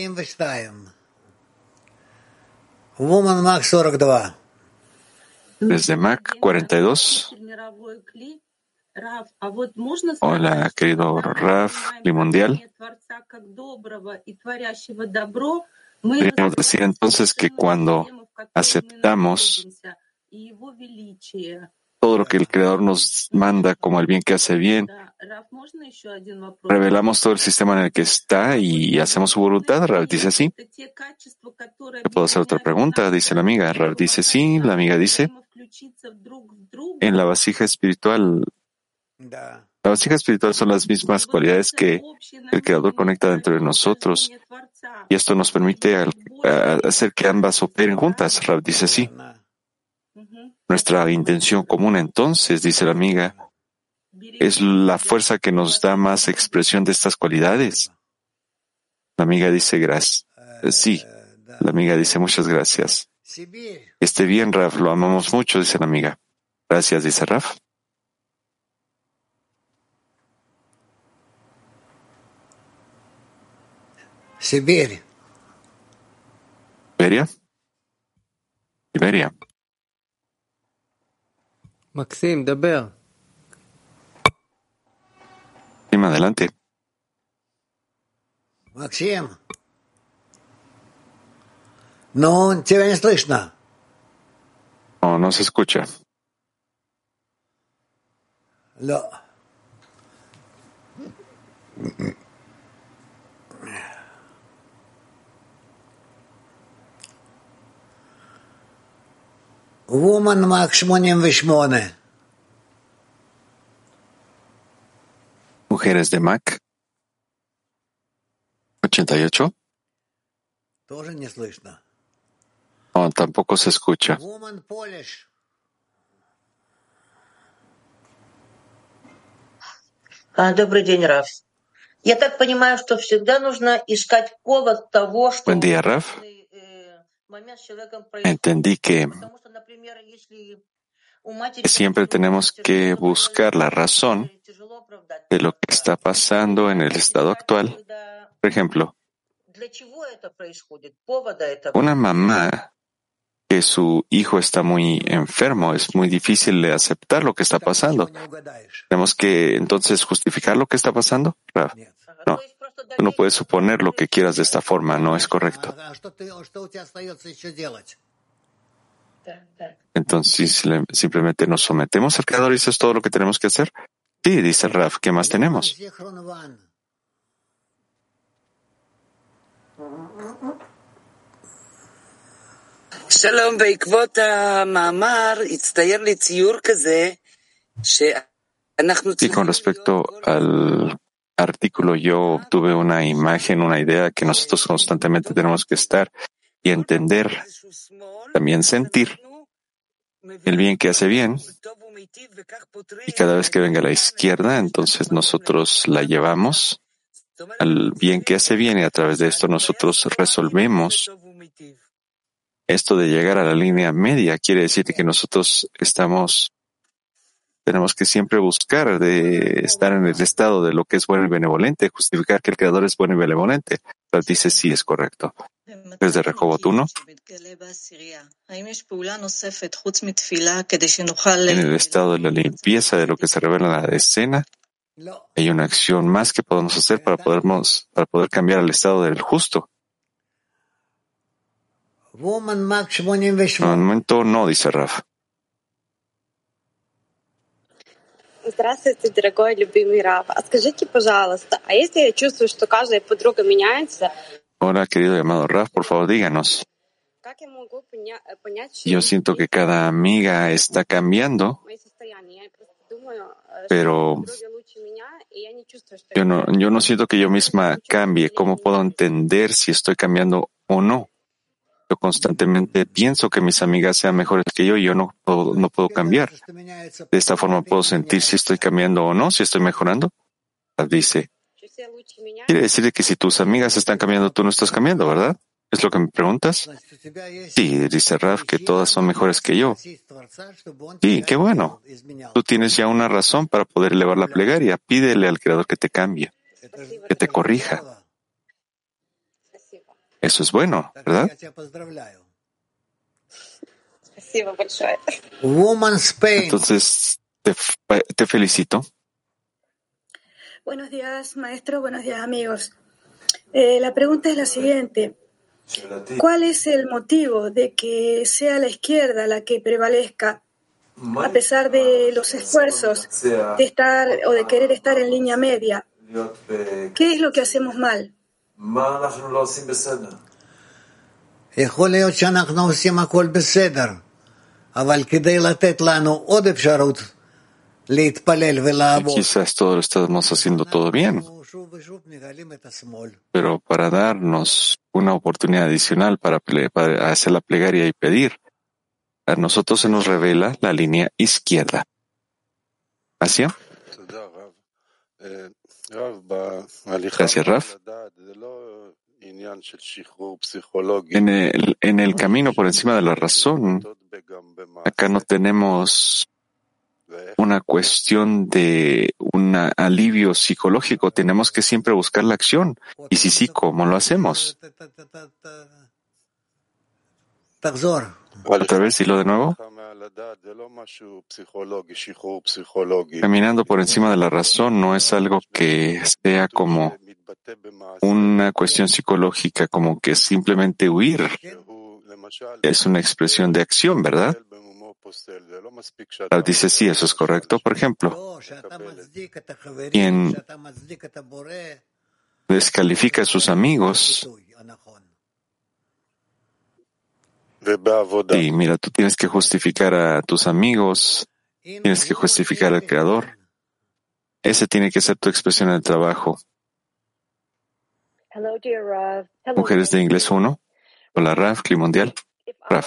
42. Desde Mac 42. Hola, querido Rav, Limundial. Podríamos decir entonces que cuando aceptamos todo lo que el Creador nos manda como el bien que hace bien, revelamos todo el sistema en el que está y hacemos su voluntad. Rav dice sí. ¿Le puedo hacer otra pregunta? Dice la amiga. Rav dice sí. La amiga dice, en la vasija espiritual, son las mismas cualidades que el Creador conecta dentro de nosotros y esto nos permite hacer que ambas operen juntas. Rav dice sí. Nuestra intención común entonces, dice la amiga, es la fuerza que nos da más expresión de estas cualidades. La amiga dice gracias. Sí. La amiga dice muchas gracias. Esté bien, Rav, lo amamos mucho, dice la amiga. Gracias, dice Rav. Siberia. Siberia. Maxim, daber. Adelante. Maxim. No, тебя не слышно. No se escucha. No. Woman Mac 88. Mujeres de Mac 88. Тоже не слышно. No, tampoco se escucha. Woman Polish. Добрый день, Раф. Я так понимаю, что всегда нужно искать повод того, что Buen día, Rav. момент с человеком происходит. Entendí que Потому что, например, если у матери siempre tenemos que buscar la razón de lo que está pasando en el estado actual. Por ejemplo, для чего это происходит? Повода этого. una mamá que su hijo está muy enfermo, es muy difícil de aceptar lo que está pasando. ¿Tenemos que entonces justificar lo que está pasando? Rav? No, tú no puedes suponer lo que quieras de esta forma, no es correcto. Entonces simplemente nos sometemos al Creador y eso es todo lo que tenemos que hacer. Sí, dice Rav, ¿qué más tenemos? שלום, בעקבות המאמר הצטייר לי ציור כזה שאנחנו Y con respecto al artículo, yo obtuve una imagen, una idea que nosotros constantemente tenemos que estar y entender, también sentir el bien que hace bien. Y cada vez que venga a la izquierda, entonces nosotros la llevamos al bien que hace bien y a través de esto nosotros resolvemos. Esto de llegar a la línea media quiere decir que nosotros estamos Tenemos que siempre buscar de estar en el estado de lo que es bueno y benevolente, justificar que el Creador es bueno y benevolente. Entonces dice, sí, es correcto. Desde Rehobot 1, en el estado de la limpieza de lo que se revela en la decena, hay una acción más que podemos hacer para poder cambiar el estado del justo. En el momento no, dice Raf. Здравствуйте, дорогой любимый Рав. А скажите, пожалуйста, а если я чувствую, что каждая подруга меняется, Hola, querido llamado Raf, por favor, díganos. как я могу понять, Yo siento que cada amiga está cambiando, мои состояния? Я просто думаю, pero подруги лучше меня, и я не чувствую, что yo no siento que yo misma cambie. ¿Cómo puedo entender si estoy cambiando o no? Yo constantemente pienso que mis amigas sean mejores que yo y yo no puedo cambiar. De esta forma puedo sentir si estoy cambiando o no, si estoy mejorando. Dice, quiere decir que si tus amigas están cambiando, tú no estás cambiando, ¿verdad? ¿Es lo que me preguntas? Sí, dice Raf, que todas son mejores que yo. Sí, qué bueno. Tú tienes ya una razón para poder elevar la plegaria. Pídele al Creador que te cambie, que te corrija. Eso es bueno, ¿verdad? Entonces, te felicito. Buenos días, maestro. Buenos días, amigos. La pregunta es la siguiente. ¿Cuál es el motivo de que sea la izquierda la que prevalezca, a pesar de los esfuerzos de estar o de querer estar en línea media? ¿Qué es lo que hacemos mal? יכול להיות שאנחנו עושים הכל בסדר, אבל כדי לתת לנו עוד אפשרות להתפלל ולעבוד. Quizás todo lo estamos haciendo todo bien, pero para darnos una oportunidad adicional para hacer la plegaria y pedir, a nosotros se nos revela la línea izquierda. ¿Así? Gracias, Raf. En el camino por encima de la razón, acá no tenemos una cuestión de un alivio psicológico. Tenemos que siempre buscar la acción. Y si sí, ¿cómo lo hacemos? Otra vez, dilo de nuevo. Caminando por encima de la razón no es algo que sea como una cuestión psicológica, como que simplemente huir. Es una expresión de acción, ¿verdad? Dice, sí, eso es correcto. Por ejemplo, quien descalifica a sus amigos, sí, mira, tú tienes que justificar a tus amigos, tienes que justificar al Creador. Ese tiene que ser tu expresión en el trabajo. Mujeres de Inglés 1. Hola, Raf, Clima Mundial. Raf.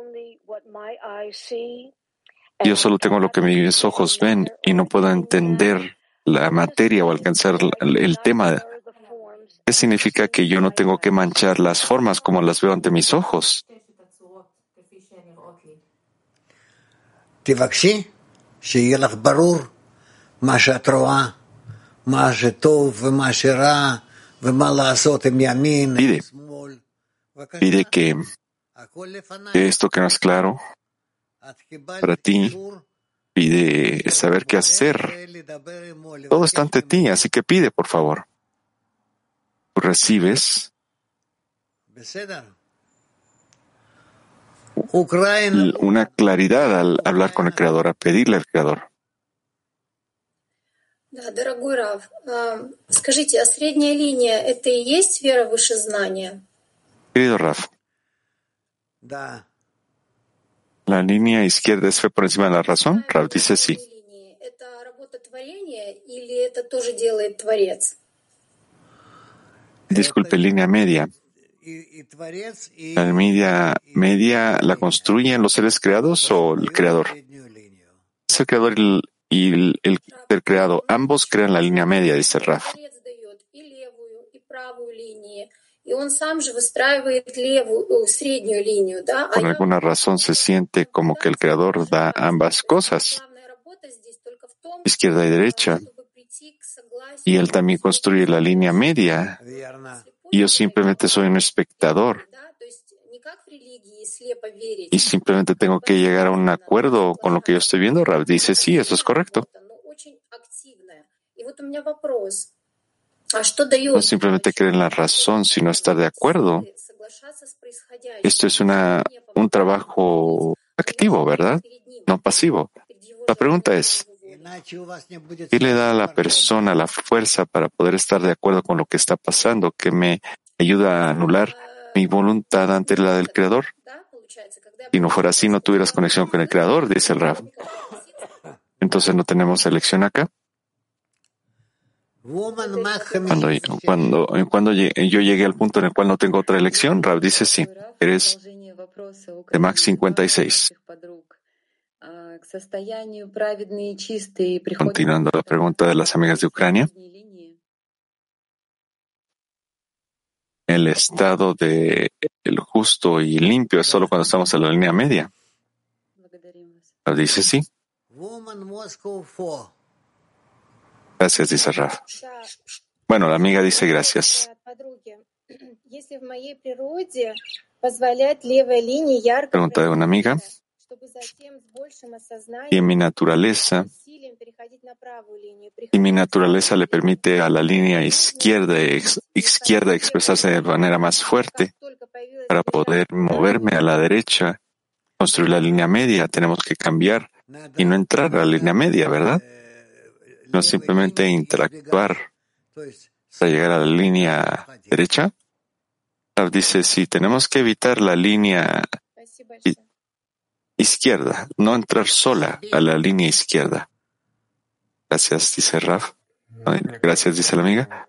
Yo solo tengo lo que mis ojos ven y no puedo entender la materia o alcanzar el tema. ¿Qué significa que yo no tengo que manchar las formas como las veo ante mis ojos? תבקשי שיהיה לך ברור מה שאת רואה, מה שטוב ומה שרע ומה לעשות עם ימין, עם שמאל. Pide que esto que no es claro para ti, pide saber qué hacer. Todo está ante ti, así que pide, por favor. Tú recibes una claridad al hablar con el Creador, a pedirle al Creador. Да, дорогой Рав, скажите, а средняя линия – это и есть сфера вышезнания? Querido Raf, ¿la línea izquierda es fe por encima de la razón? Raf dice sí. Это работа творения или это тоже делает Творец? Disculpe, línea media. ¿La media la construyen los seres creados o el Creador? Es el Creador y el ser creado. Ambos crean la línea media, dice Raf. Por alguna razón se siente como que el Creador da ambas cosas. izquierda y derecha, y él también construye la línea media, y yo simplemente soy un espectador, y simplemente tengo que llegar a un acuerdo con lo que yo estoy viendo. Rav dice, sí, eso es correcto. No simplemente creer en la razón, sino estar de acuerdo. Esto es un trabajo activo, ¿verdad? No pasivo. La pregunta es, ¿qué le da a la persona la fuerza para poder estar de acuerdo con lo que está pasando, que me ayuda a anular mi voluntad ante la del Creador? Si no fuera así, no tuvieras conexión con el Creador, dice el Rav. Entonces no tenemos elección acá. Cuando yo llegué al punto en el cual no tengo otra elección, Rav dice sí. Eres de Max 56. Continuando la pregunta de las amigas de Ucrania. El estado de el justo y limpio es solo cuando estamos en la línea media. Rav dice sí. Gracias, dice Rav. Bueno, la amiga dice gracias. Pregunta de una amiga. Y mi naturaleza le permite a la línea izquierda expresarse de manera más fuerte para poder moverme a la derecha, construir la línea media. Tenemos que cambiar y no entrar a la línea media, ¿verdad? No simplemente interactuar para llegar a la línea derecha. Rav dice, sí, tenemos que evitar la línea izquierda, no entrar sola a la línea izquierda. Gracias, dice Rav. Gracias, dice la amiga.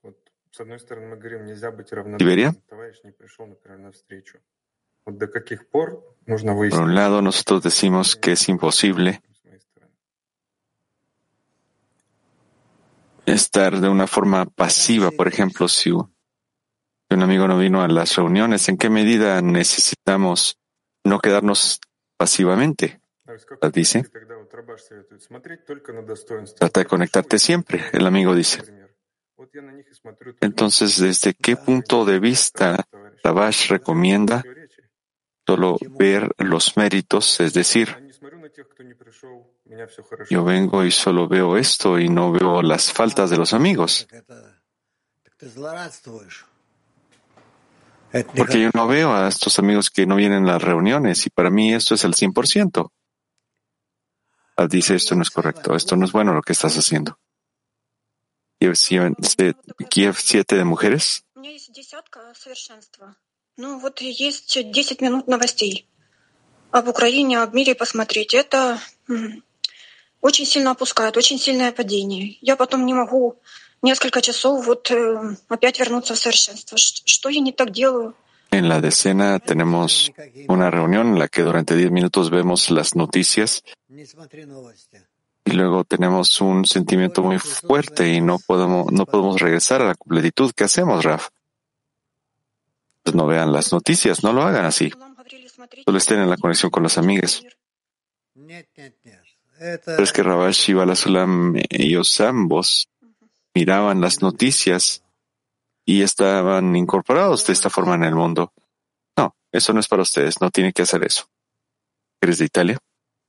¿Siberia? Por un lado, nosotros decimos que es imposible estar de una forma pasiva. Por ejemplo, si un amigo no vino a las reuniones, ¿en qué medida necesitamos no quedarnos pasivamente? Dice, trata de conectarte siempre, el amigo dice. Entonces, ¿desde qué punto de vista Rabash recomienda solo ver los méritos? Es decir, yo vengo y solo veo esto y no veo las faltas de los amigos. Porque yo no veo a estos amigos que no vienen a las reuniones y para mí esto es el 100%. Dice, esto no es correcto, esto no es bueno lo que estás haciendo. Kiev 7 de mujeres. Ну, вот есть 10 минут новостей об Украине, об мире посмотреть. Это очень сильно опускает, очень сильное падение. Я потом не могу несколько часов опять вернуться в совершенство. Что я не так делаю? En la decena tenemos una reunión en la que durante 10 minutos vemos las noticias y luego tenemos un sentimiento muy fuerte y no podemos regresar a la completitud. ¿Qué hacemos, Raf? Pues no vean las noticias, no lo hagan así. Solo estén en la conexión con las amigas. Pero es que Rabash y Balasulam, ellos ambos miraban las noticias y estaban incorporados de esta forma en el mundo. No, eso no es para ustedes, no tienen que hacer eso. ¿Eres de Italia?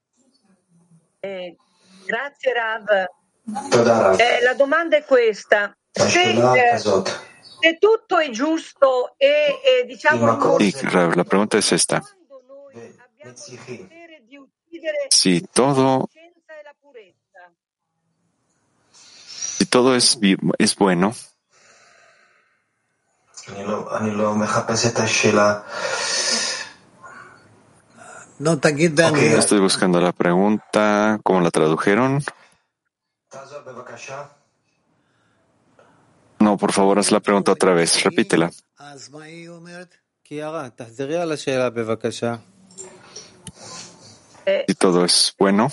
Grazie Rav. La domanda è questa. Se tutto è giusto e diciamo... Sí, Rav, la pregunta es esta. Si todo es bueno, estoy buscando la pregunta, ¿cómo la tradujeron? No, por favor, haz la pregunta otra vez, repítela. Si todo es bueno.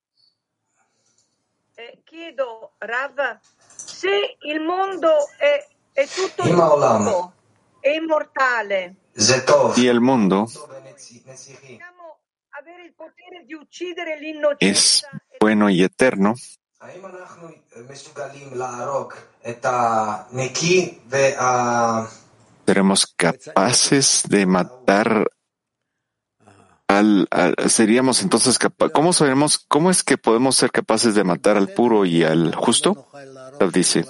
Chiedo, Rav, se il mondo è tutto giusto, è immortale. Y el mundo Possiamo avere il potere di uccidere l'innocenza. Es bueno y eterno. ¿Seremos capaces de matar seríamos entonces ¿cómo sabemos, cómo es que podemos ser capaces de matar al puro y al justo? Rav dice,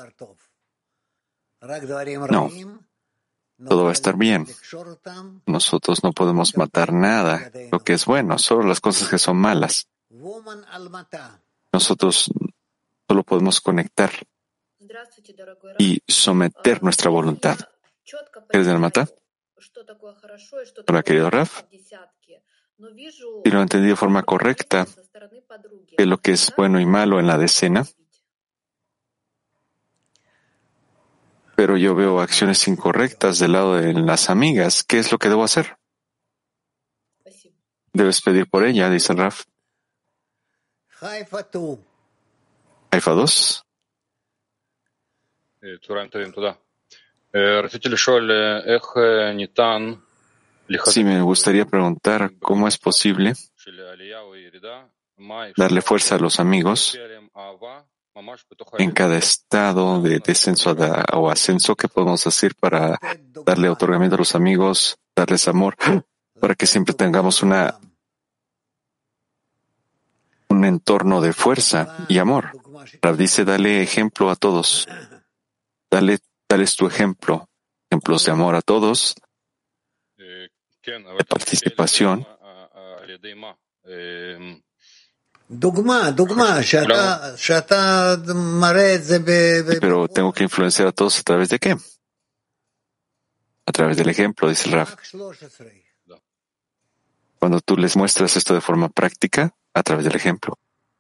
no, todo va a estar bien. Nosotros no podemos matar nada, lo que es bueno, solo las cosas que son malas. Nosotros solo podemos conectar y someter nuestra voluntad. ¿Eres del Mata? Hola, querido Rav. Si lo entendí de forma correcta, que lo que es bueno y malo en la decena, pero yo veo acciones incorrectas del lado de las amigas, ¿qué es lo que debo hacer? Debes pedir por ella, dice el Rav. Haifa 2. Sí, me gustaría preguntar cómo es posible darle fuerza a los amigos en cada estado de descenso o ascenso que podemos hacer para darle otorgamiento a los amigos, darles amor, para que siempre tengamos un entorno de fuerza y amor. Rav dice, dale ejemplo a todos. Dales tu ejemplo, ejemplos de amor a todos, de participación. Pero tengo que influenciar a todos ¿a través de qué? A través del ejemplo, dice el Rav. Cuando tú les muestras esto de forma práctica, a través del ejemplo.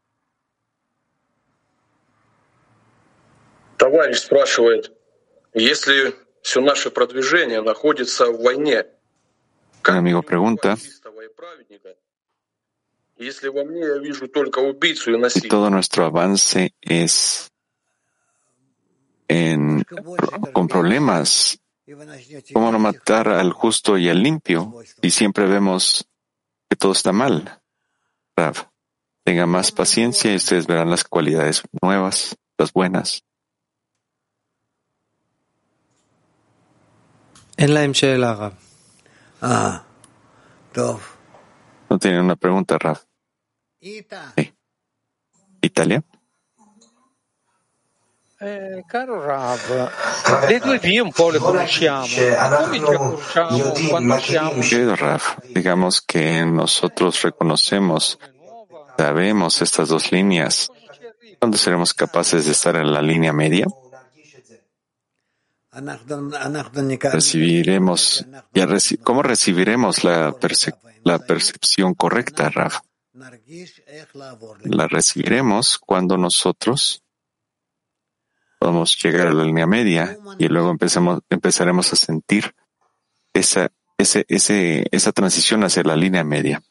Товарищ спрашивает, если все наше продвижение находится в войне, un amigo pregunta, si todo nuestro avance es con problemas, ¿cómo no matar al justo y al limpio? Y siempre vemos que todo está mal. Rav, tenga más paciencia y ustedes verán las cualidades nuevas, las buenas. No tiene una pregunta, Rav. Sí. Italia. Caro Rav, le due vie un po' le conosciamo. Come ci accorgiamo quando siamo? Querido Rav, digamos que nosotros sabemos estas dos líneas. ¿Cuándo seremos capaces de estar en la línea media? ¿Cómo recibiremos la percepción correcta, Rav? La recibiremos cuando nosotros podamos llegar a la línea media y luego empezaremos a sentir esa transición hacia la línea media.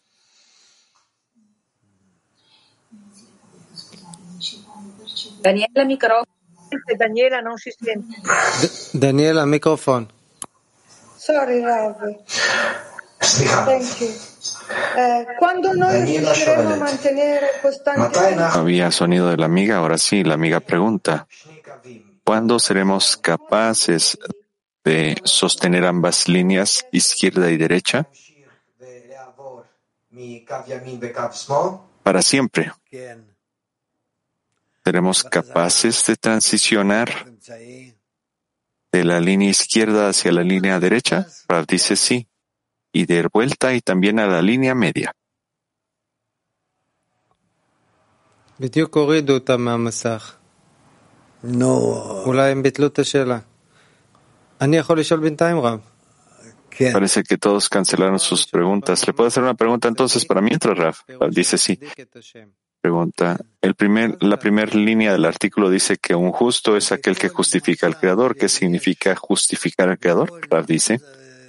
Daniela, micrófono. Daniela non si sente. Daniela, microfono. Sorry, Rav. Thank you. Quando noi riusciremo a mantenere costantemente... Había sonido de la amiga, ahora sí, la amiga pregunta, ¿cuándo seremos capaces de sostener ambas líneas, izquierda y derecha? Para siempre. ¿Seremos capaces de transicionar de la línea izquierda hacia la línea derecha? Rav dice sí. Y de vuelta y también a la línea media. בדיוק הורידו אותה מהמסך. אולי הם ביטלו את השאלה. אני יכול לשאול בינתיים, רב? Parece que todos cancelaron sus preguntas. ¿Le puedo hacer una pregunta entonces para mientras, Rav? Dice sí. Pregunta. La primera línea del artículo dice que un justo es aquel que justifica al Creador. ¿Qué significa justificar al Creador? Rav dice.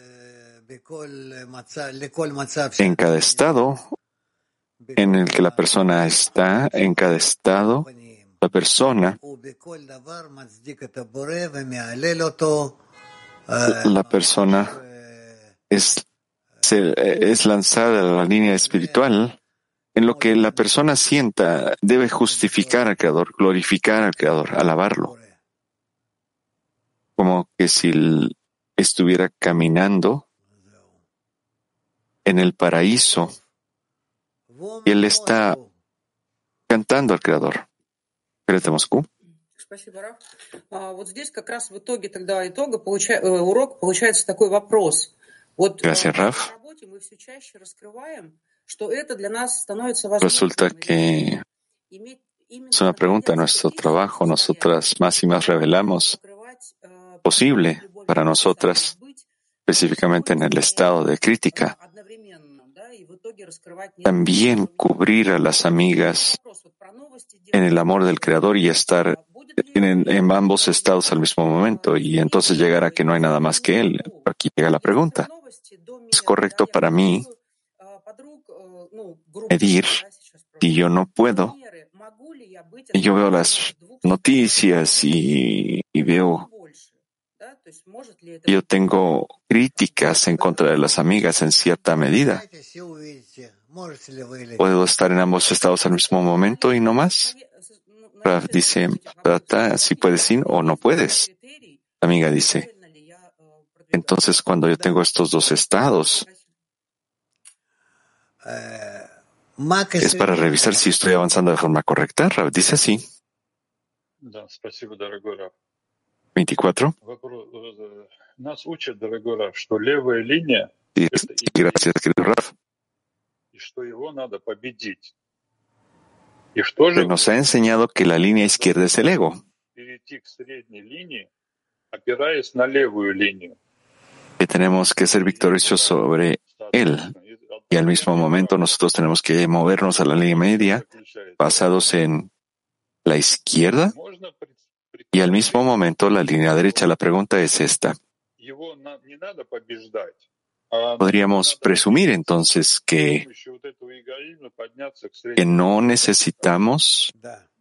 En cada estado en el que la persona está, en cada estado, la persona es lanzada a la línea espiritual en lo que la persona sienta, debe justificar al Creador, glorificar al Creador, alabarlo. Como que si estuviera caminando en el paraíso y él está cantando al Creador. Перед Moscú. Спасибо, Раф. Вот здесь как раз в итоге тогда урок получается такой вопрос. Вот Gracias, Raf. в работе мы все чаще раскрываем, что это для нас становится возможным. Resulta que es una pregunta. En nuestro trabajo, nosotras más y más revelamos posible para nosotras, específicamente en el estado de crítica, también cubrir a las amigas en el amor del Creador y estar en ambos estados al mismo momento, y entonces llegar a que no hay nada más que Él. Aquí llega la pregunta. ¿Es correcto para mí medir si yo no puedo? Y yo veo las noticias y veo que yo tengo críticas en contra de las amigas en cierta medida. ¿Puedo estar en ambos estados al mismo momento y no más? Rav dice, trata si puedes ir o no puedes. La amiga dice, entonces cuando yo tengo estos dos estados, es para revisar si estoy avanzando de forma correcta. Rav dice así. 24. Gracias, querido Rav. Nos ha enseñado que la línea izquierda es el ego. Que tenemos que ser victoriosos sobre él. Y al mismo momento nosotros tenemos que movernos a la línea media basados en la izquierda. Y al mismo momento la línea derecha. La pregunta es esta. Podríamos presumir entonces que no necesitamos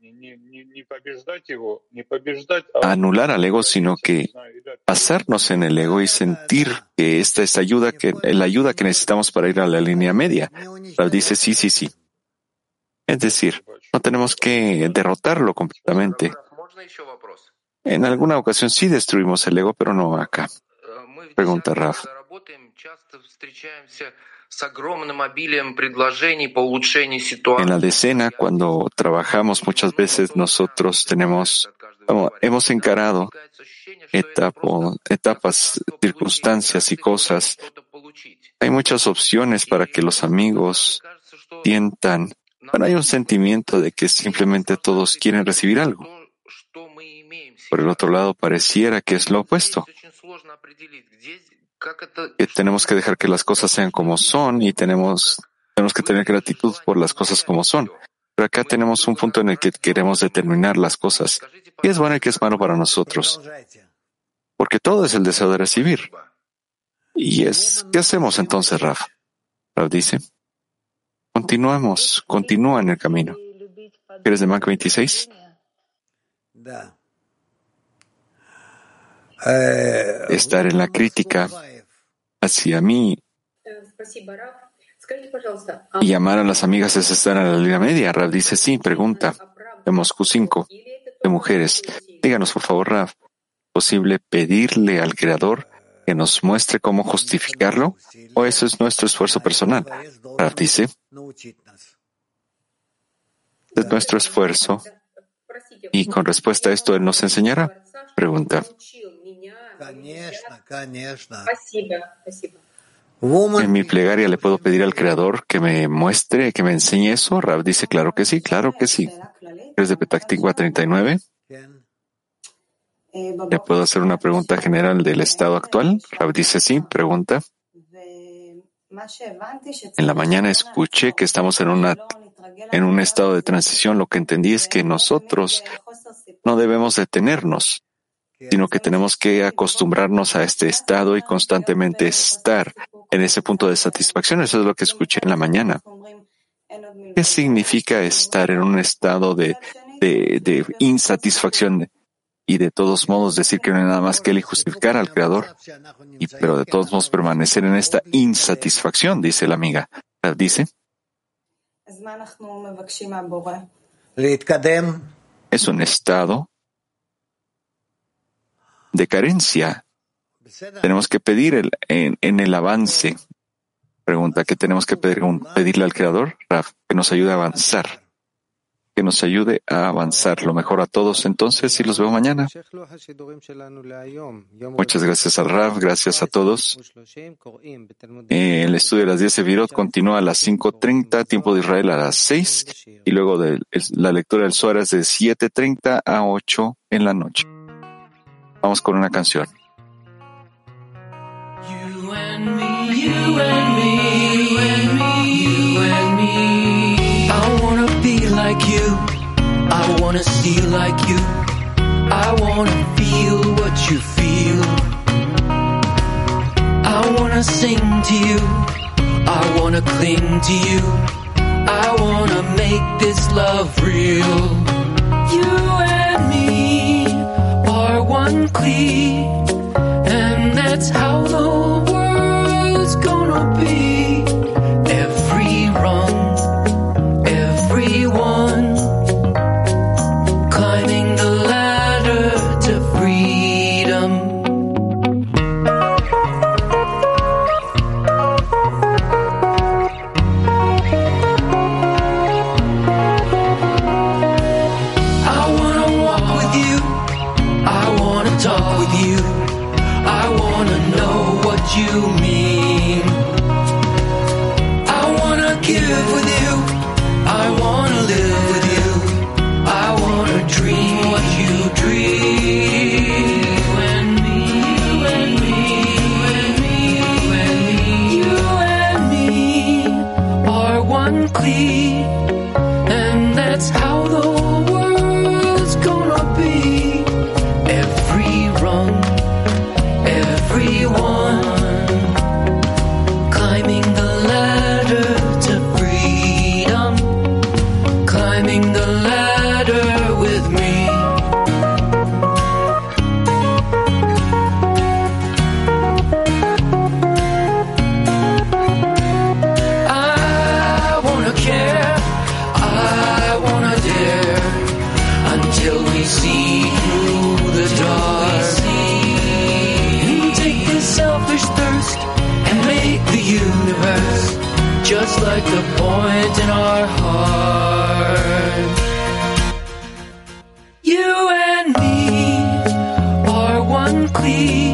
anular al ego, sino que basarnos en el ego y sentir que esta es la ayuda que necesitamos para ir a la línea media. Rav dice sí. Es decir, no tenemos que derrotarlo completamente. En alguna ocasión sí destruimos el ego, pero no acá. Pregunta Rav. En la decena, cuando trabajamos, muchas veces nosotros hemos encarado etapas, circunstancias y cosas. Hay muchas opciones para que los amigos sientan. Bueno, hay un sentimiento de que simplemente todos quieren recibir algo. Por el otro lado, pareciera que es lo opuesto. Que tenemos que dejar que las cosas sean como son y tenemos que tener gratitud por las cosas como son. Pero acá tenemos un punto en el que queremos determinar las cosas. ¿Qué es bueno y qué es malo para nosotros? Porque todo es el deseo de recibir. ¿Qué hacemos entonces, Rav? Rav dice, continúa en el camino. ¿Eres de Mac 26? Estar en la crítica hacia mí y amar a las amigas es estar en la línea media. Rav dice sí. Pregunta de Moscú 5 de mujeres. Díganos por favor, Rav, ¿es posible pedirle al Creador que nos muestre cómo justificarlo? ¿O eso es nuestro esfuerzo personal? Rav dice, es nuestro esfuerzo y con respuesta a esto Él nos enseñará. Pregunta. En mi plegaria le puedo pedir al Creador que me muestre, que me enseñe eso. Rav dice, claro que sí. ¿Eres de Petah Tikva 39? ¿Le puedo hacer una pregunta general del estado actual? Rav dice sí. Pregunta. En la mañana escuché que estamos en un estado de transición. Lo que entendí es que nosotros no debemos detenernos, sino que tenemos que acostumbrarnos a este estado y constantemente estar en ese punto de satisfacción. Eso es lo que escuché en la mañana. ¿Qué significa estar en un estado de insatisfacción y de todos modos decir que no hay nada más que Él y justificar al Creador? Pero de todos modos permanecer en esta insatisfacción, dice la amiga. Dice, Es un estado de carencia. Tenemos que pedir en el avance. Pregunta, ¿qué tenemos que pedirle al Creador? Rav, que nos ayude a avanzar. Que nos ayude a avanzar. Lo mejor a todos entonces y los veo mañana. Muchas gracias al Rav, gracias a todos. El estudio de las 10 Sefirot continúa a las 5:30, tiempo de Israel a las 6, y luego la lectura del Zohar es de 7:30 a 8 en la noche. Vamos con una canción. You and me, you and me, you and me, you and me. I wanna be like you, I wanna see like you, I wanna feel what you feel. I wanna sing to you, I wanna cling to you, I wanna make this love real. You and me are one cleat, and that's how the world's gonna be. Every rung, everyone climbing the ladder to freedom. I wanna walk with you, I wanna talk with you, I wanna know what you mean. I wanna give with you, I wanna live with you, I wanna dream what you dream. You and me, you and me, you and me, you and me, you and me are one cleat, and that's how the world's gonna be. Every rung, everyone climbing the ladder to freedom, climbing the ladder with me. I wanna care, I wanna dare, until we see through the dark. Take this selfish thirst and make the universe just like the point in our heart. You and me are one cleat.